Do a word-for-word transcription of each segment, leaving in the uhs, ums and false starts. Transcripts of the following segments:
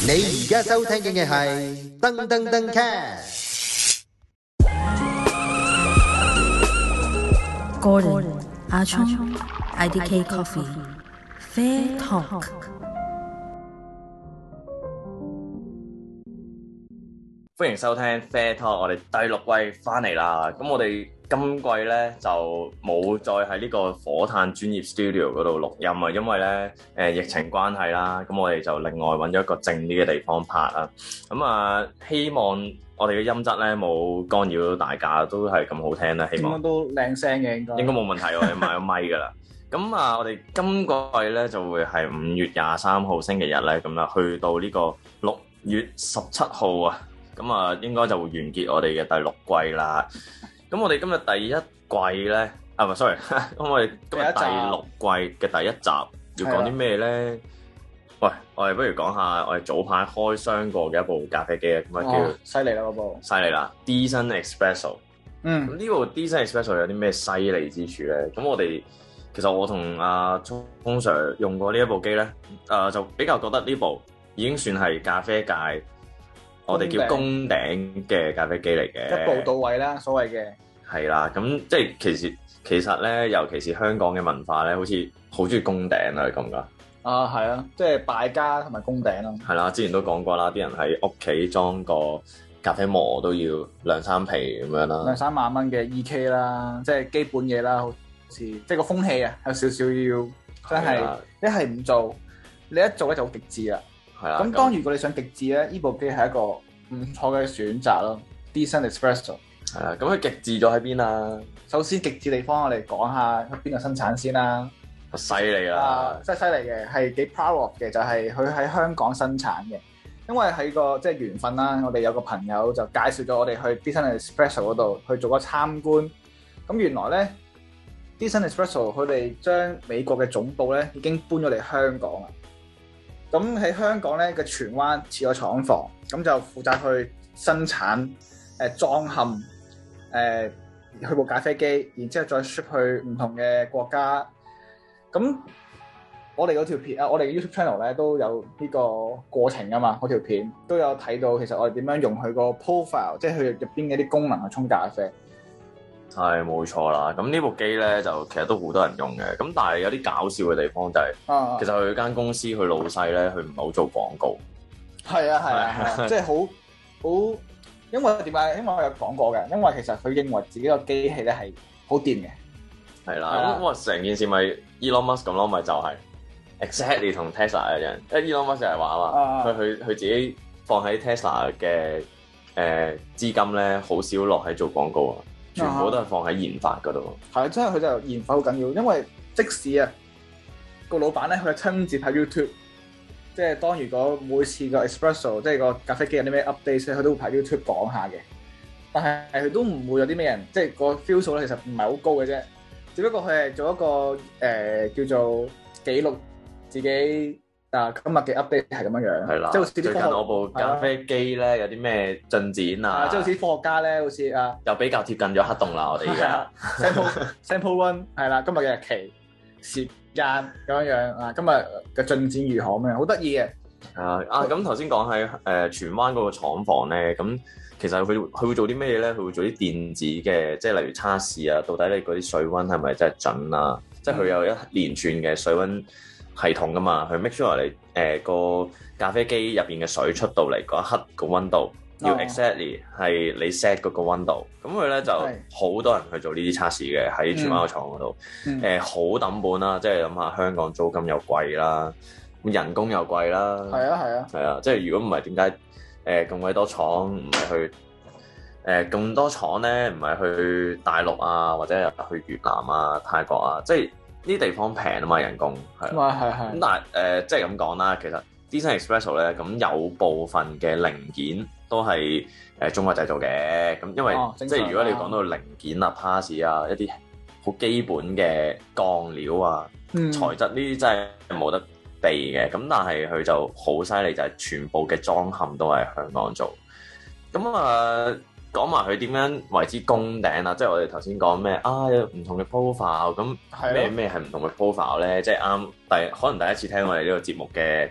你而家收聽嘅係噔噔噔 cast。 Gordon 阿聰 I D K Coffee Fair Talk。 歡迎收聽 Fair Talk，我哋第六季翻嚟啦。咁我哋今季咧就冇再喺呢個火炭專業 studio 嗰度錄音啊，因為咧誒、呃、疫情關係啦。咁我哋就另外揾咗一個靜啲嘅地方拍啦。咁啊，希望我哋嘅音質咧冇干擾到大家，都係咁好聽啦。希望應該都靚聲嘅，應該應該冇問題。我哋買咗咪㗎啦。咁啊，我哋今個季咧就會係五月廿三號星期日咧咁啦，去到呢個六月十七號啊。咁啊，應該就會完結我哋嘅第六季啦。咁我哋今日第一季咧，啊唔係 sorry，咁我哋今日第六季嘅第一集要講啲咩咧？喂，我哋不如講下我哋早排開箱過嘅一部咖啡機啊，咁啊叫犀利啦嗰部， 犀利啦 Decent Espresso。 嗯， 咁呢部 Decent Espresso 有啲咩犀利之處咧？咁我哋其實我同阿聰 Sir 用過呢一部機咧，誒、呃、就比較覺得呢部已經算係咖啡界。我哋叫攻頂嘅咖啡機嚟嘅， 一步到位啦，所謂嘅係啦。咁即係其實其實咧，尤其是香港嘅文化咧，好似好中意攻頂啊，你覺唔覺？ 啊，係啊，即係敗家同埋攻頂咯。 係啦，之前都講過啦，啲人喺屋企裝個咖啡磨都要兩三皮咁樣啦， 兩三萬蚊嘅 E K 啦，即係基本嘢啦，好似即係個風氣啊，有少少要真係一係唔做，你一做咧就好極致啦。 係啦， 咁當如果你想極致咧，呢部機係一個唔錯嘅選擇咯。Decent Espresso 係啦，咁佢極致咗喺邊啊？ 首先極致地方我哋講下佢邊個生產先啦。 犀利啦！ 啊，真係犀利嘅，係幾 proud of 嘅，就係佢喺香港生產嘅。因為喺個即係緣分啦，我哋有個朋友就介紹咗我哋去 Decent Espresso 嗰度去做個參觀。咁原來咧 Decent Espresso 佢哋將美國嘅總部咧已經搬咗嚟香港啦。咁喺香港咧嘅荃灣設個廠房，咁就負責去生產、誒、呃、裝嵌、誒、呃、去部咖啡機，然之後再 ship 去唔同嘅國家。咁我哋嗰條片啊，我哋嘅 YouTube channel 咧都有呢個過程㗎嘛，嗰條片都有睇到，其實我哋點樣用佢個 profile，即係佢入邊嘅啲功能去沖咖啡。 係冇錯啦，咁呢部機咧就其實都好多人用嘅，咁但係有啲搞笑嘅地方就係、是， 啊、 其實佢間公司佢老細咧，佢唔係好做廣告。 係啊係啊係啊，即係好好，因為點解？因為我有講過嘅，因為其實佢認為自己個機器咧係好掂嘅。 係啦，咁我成件事咪 Elon Musk 咁咯，咪就係 exactly 同 Tesla 一樣，因為 Elon Musk 就係話啊嘛，佢佢佢自己放喺 Tesla 嘅誒資金咧，好少落喺做廣告啊。全部都係放喺研發嗰度。 係啊，真係佢就研發好緊要，因為即使啊個老闆咧，佢係親自睇 YouTube，即係當如果每次個 Espresso 即係個咖啡機有啲咩 update 咧，佢都會喺 YouTube 講下嘅。但係佢都唔會有啲咩人，即係個 feel 數咧，其實唔係好高嘅啫。只不過佢係做一個誒、呃、叫做記錄自己。啊，今日嘅 update 係咁樣樣，係啦，即係好似啲最近我部咖啡機咧有啲咩進展啊？ 即係好似啲科學家咧，好似啊， 又比較貼近咗黑洞啦，我哋而家 sample sample one 係啦，今日嘅日期、時間咁樣樣啊，今日嘅進展如何咁樣，好得意嘅。 啊啊，咁頭先講喺誒荃灣嗰個廠房咧，咁其實佢佢會做啲咩嘢咧？佢會做啲電子嘅，即係例如測試啊，到底你嗰啲水溫係咪真係準啊？嗯、即係佢有一連串嘅水溫系統噶嘛，去 make sure 你誒個、呃、咖啡機入邊嘅水出到嚟嗰一刻個溫度要 exactly 係你 set 嗰個溫度，咁佢咧就好多人去做呢啲測試嘅喺荃灣個廠嗰度，誒好抌本啦，即係諗下香港租金又貴啦，人工又貴啦， 係啊係啊， 係啊，即係如果唔係點解誒咁鬼多廠唔係去誒咁、呃、多廠咧，唔係去大陸啊或者去越南啊泰國啊，即係。呢啲地方平啊嘛，人工係，咁但係誒、呃、即係咁講啦，其實 Decent Espresso 咧，咁有部分嘅零件都係誒、呃、中國製造嘅，咁因為、哦、即係如果你講到零件啊、pass 啊一啲好基本嘅鋼料啊、嗯、材質呢啲真係冇得避嘅，咁但係佢就好犀利，就係全部嘅裝嵌都係香港做，咁啊。呃講埋佢點樣為之攻頂啊！即係我哋頭先講咩啊，有唔同嘅 profile， 咁咩咩係唔同嘅 profile 咧？即係啱第可能第一次聽我哋呢個節目嘅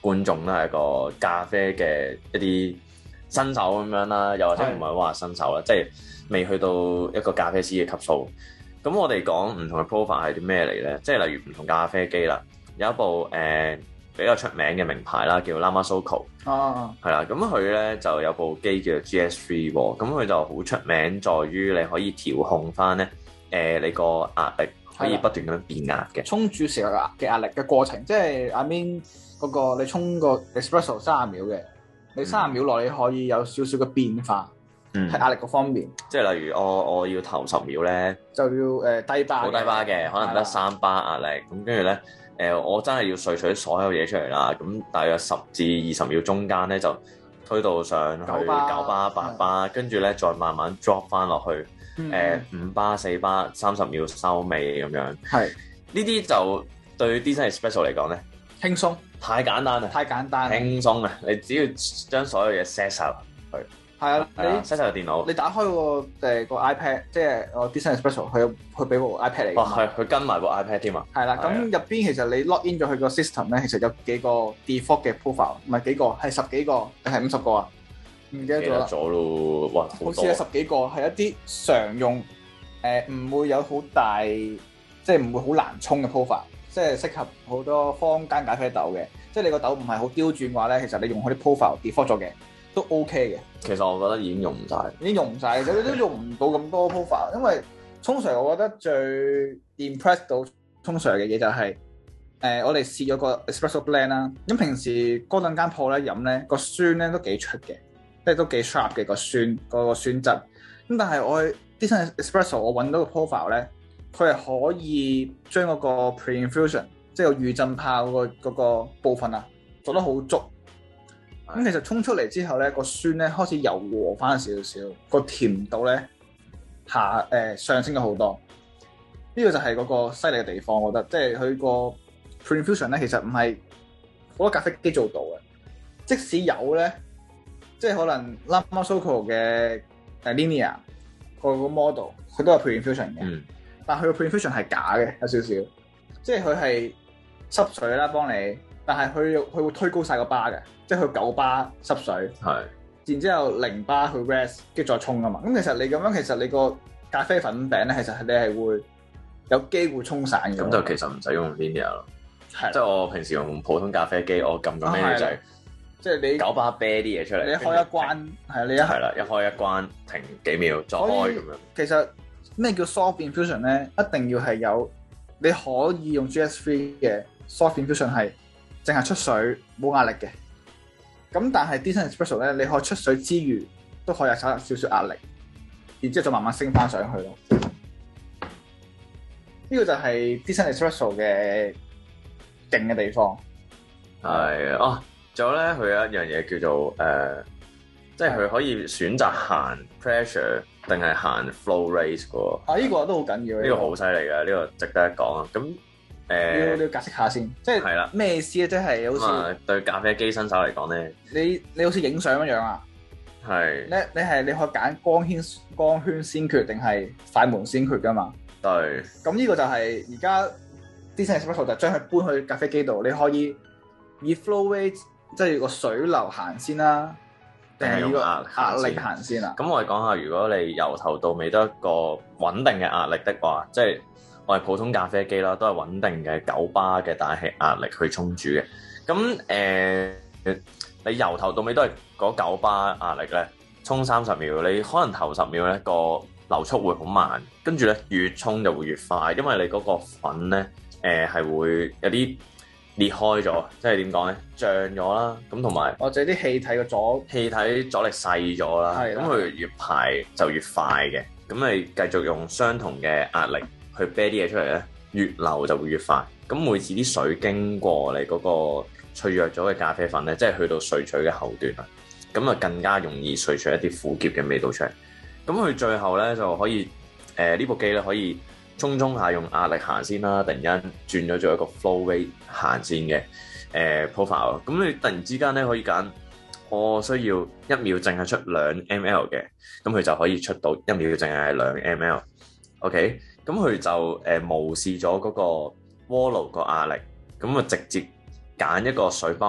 觀眾啦，係一個咖啡嘅一啲新手咁樣啦，又或者唔係話新手啦，即係未去到一個咖啡師嘅級數。咁我哋講唔同嘅 profile 係啲咩嚟咧？即係例如唔同咖啡機啦，有一部誒、呃、比較出名嘅名牌啦，叫 Lama Soko。 哦， 係啦，咁佢咧就有部機叫做 G S 三喎，咁佢就好出名，在於你可以調控翻咧誒你個壓力可以不斷咁樣變壓嘅。 沖煮時嘅壓嘅壓力嘅過程，即係 I mean 嗰個你沖個 espresso 三十秒嘅，你三十秒內你可以有少少嘅變化， 嗯， 係壓力嗰方面。 即係例如我我要頭十秒咧， 就要誒、呃、低巴， 好低巴嘅，可能得三巴壓力，咁跟住咧。誒、呃，我真係要萃取所有嘢出嚟啦，咁大約十至二十秒中間咧就推到上去九巴、八巴，跟住咧再慢慢 drop 翻落去，誒、嗯呃、五巴、四巴、三十秒收尾咁樣。係呢啲就對 Decent Espresso 嚟講咧， 輕鬆，太簡單啦， 太簡單， 輕鬆啊！你只要將所有嘢 set 晒去。係啊，你 set 晒個電腦， 你打開個誒個 iPad，即係我 Decent Espresso，佢佢俾部 iPad 嚟。 哦，係，佢跟埋部 iPad 添啊。 係啦，咁入邊其實你 log in 咗佢個 system 咧，其實有幾個 default 嘅 profile，唔係幾個，係十幾個定係五十個啊？唔記得咗啦。咗咯，哇！好似有十幾個，係一啲常用誒，唔、呃、會有好大，即係唔會好難沖嘅 profile，即係適合好多坊間咖啡豆嘅。即係你個豆唔係好刁鑽嘅話咧，其實你用佢啲 profile default 咗嘅。都 OK 嘅， 其實我覺得已經用唔晒， 已經用唔晒，你都用唔到咁多 profile， 因為沖 Sir 我覺得最 impress 到沖 Sir 嘅嘢就係、是，誒、呃、我哋試咗個 espresso blend 啦，咁平時嗰兩間鋪咧飲咧個酸咧都幾出嘅，即係都幾 sharp 嘅個酸嗰、那個酸質，咁但係我啲新 espresso 我揾到個 profile 咧，佢係可以將嗰個 pre-infusion 即係個預浸泡嗰、那個部分啊做得好足。咁其實沖出嚟之後咧，個酸咧開始柔和翻少少，個甜度咧下誒、呃、上升咗好多。呢、這個就係嗰個犀利嘅地方，我覺得，即係佢個 pre-infusion 咧，其實唔係好多咖啡機做到嘅。即使有咧，即係可能 Lama Soko 嘅誒 Linear 個個 model，佢都有 pre-infusion 嘅，嗯、但係佢個 pre-infusion 係假嘅，有少少，即係佢係濕水啦，幫你，但係佢佢會推高晒個巴嘅。即係佢九巴濕水，係，然之後零巴去 rest，跟住再沖啊嘛。咁其實你咁樣，其實你個咖啡粉餅咧，其實你係會有機會沖散嘅。咁就其實唔使用 linear 咯，即係我平時用普通咖啡機，我撳個 menu 就係，即係你九巴啤啲嘢出嚟，你開一關係你一係啦，一開一關停幾秒再開咁樣。其實咩叫 soft infusion 咧？一定要係有你可以用 G S 三嘅 soft infusion 係淨係出水冇壓力嘅。咁但係 Decent Espresso 咧，你可以出水之餘，都可以有少少壓力，然之後再慢慢升翻上去咯。呢、這個就係 Decent Espresso 嘅勁嘅地方。係啊，仲有咧，佢有一樣嘢叫做誒、呃，即係佢可以選擇行 pressure 定係行 flow rate 嘅。啊，呢、這個都好緊要。呢、這個好犀利嘅，呢、這個值得一講啊。咁誒，要你要解釋下先，即係係啦，咩意思咧？即係好似、嗯、對咖啡機新手嚟講咧，你你好似影相咁樣啊？係，你你係你可以揀光圈光圈先決定係快門先決噶嘛？對。咁呢個就係而家 Decent Espresso 就將佢搬去咖啡機度，你可以以 flow rate 即係個水流行先啦，定係用壓壓力行先啊？咁我哋講下，如果你由頭到尾都一個穩定嘅壓力的話，即係。我係普通咖啡機啦，都係穩定嘅九巴嘅大氣壓力去沖煮嘅。咁誒、呃，你由頭到尾都係嗰九巴壓力咧，沖三十秒，你可能頭十秒咧個流速會好慢，跟住咧越沖就會越快，因為你嗰個粉咧誒係會有啲裂開咗，即係點講咧，脹咗啦。咁同埋或者啲氣體嘅阻氣體阻力細咗啦，咁佢越排就越快嘅。咁你繼續用相同嘅壓力去啤啲嘢出嚟咧，越流就會越快。咁每次啲水經過你嗰個脆弱咗嘅咖啡粉咧，即係去到萃取嘅後段啦，咁啊更加容易萃取一啲苦澀嘅味道出嚟。咁佢最後咧就可以，誒、呃、呢部機咧可以沖沖下用壓力行先啦，突然間轉咗做一個 flow rate 行先嘅誒、呃、profile。咁你突然之間咧可以揀，我需要一秒淨係出兩 ml 嘅，咁佢就可以出到一秒淨係兩 ml。OK。咁佢就誒、呃、無視咗嗰個鍋爐個壓力，咁啊直接揀一個水泵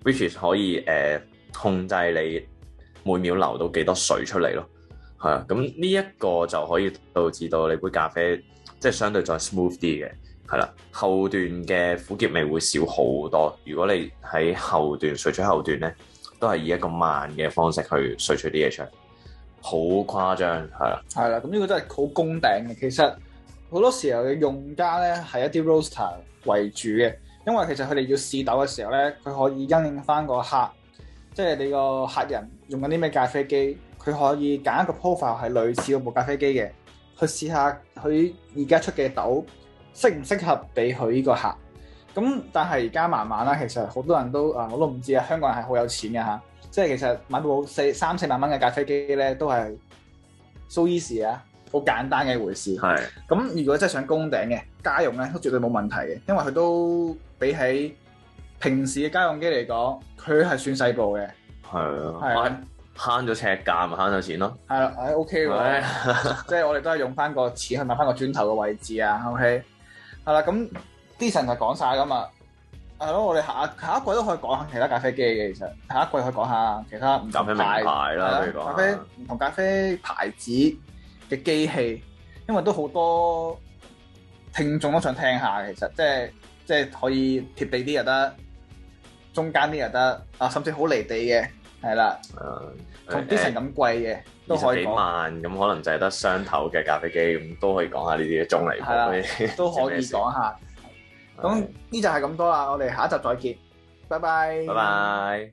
which is 可以誒、呃、控制你每秒流到幾多水出嚟咯。係啊，咁呢一個就可以導致到你杯咖啡即係相對再 smooth 啲嘅，係啦，後段嘅苦澀味會少好多。如果你喺後段萃取後段咧，都係以一個慢嘅方式去萃取啲嘢出嚟，好誇張，係啦。 係啦，咁呢個真係好攻頂嘅。其實好多時候嘅用家咧係一啲 roaster 為主嘅，因為其實佢哋要試豆嘅時候咧，佢可以因應翻個客，即係你個客人用緊啲咩咖啡機。佢可以揀一個 profile 係類似嗰部咖啡機嘅，去試下佢而家出嘅豆適唔適合俾佢呢個客。咁但係而家慢慢啦，其實好多人都啊，我都唔知啊，香港人係好有錢嘅嚇，即係其實買部四三四萬蚊嘅咖啡機咧，都係 so easy 啊，好簡單嘅一回事。 係。咁如果真係想攻頂嘅家用咧，都絕對冇問題嘅，因為佢都比起平時嘅家用機嚟講，佢係算細部嘅。 係啊。 係啊。 慳咗尺價咪慳咗錢咯， 係啦，誒 OK 喎，即係我哋都係用翻個錢去買翻個磚頭嘅位置啊 ，OK，係啦，咁啲神就講晒噶嘛，係咯，我哋下下一季都可以講下其他咖啡機嘅，其實下一季可以講下其他唔同咖啡名牌啦， 譬如講咖啡唔同咖啡牌子嘅機器，因為都好多聽眾都想聽下，其實即係即係可以貼地啲又得，中間啲又得，啊甚至好離地嘅。係啦，同啲成咁貴嘅都可以講。二十幾萬咁，可能就係得雙頭嘅咖啡機，咁都可以講下呢啲嘅中離譜， 都可以講下。咁呢就係咁多啦，我哋下一集再見，拜拜。 拜拜。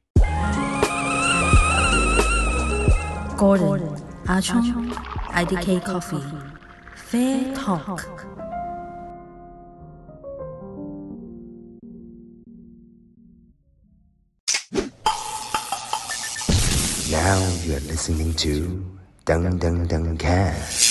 Gordon 阿聰 I D K Coffee，Fair Talk。 Now you're listening to Dung Dung Dung Cat.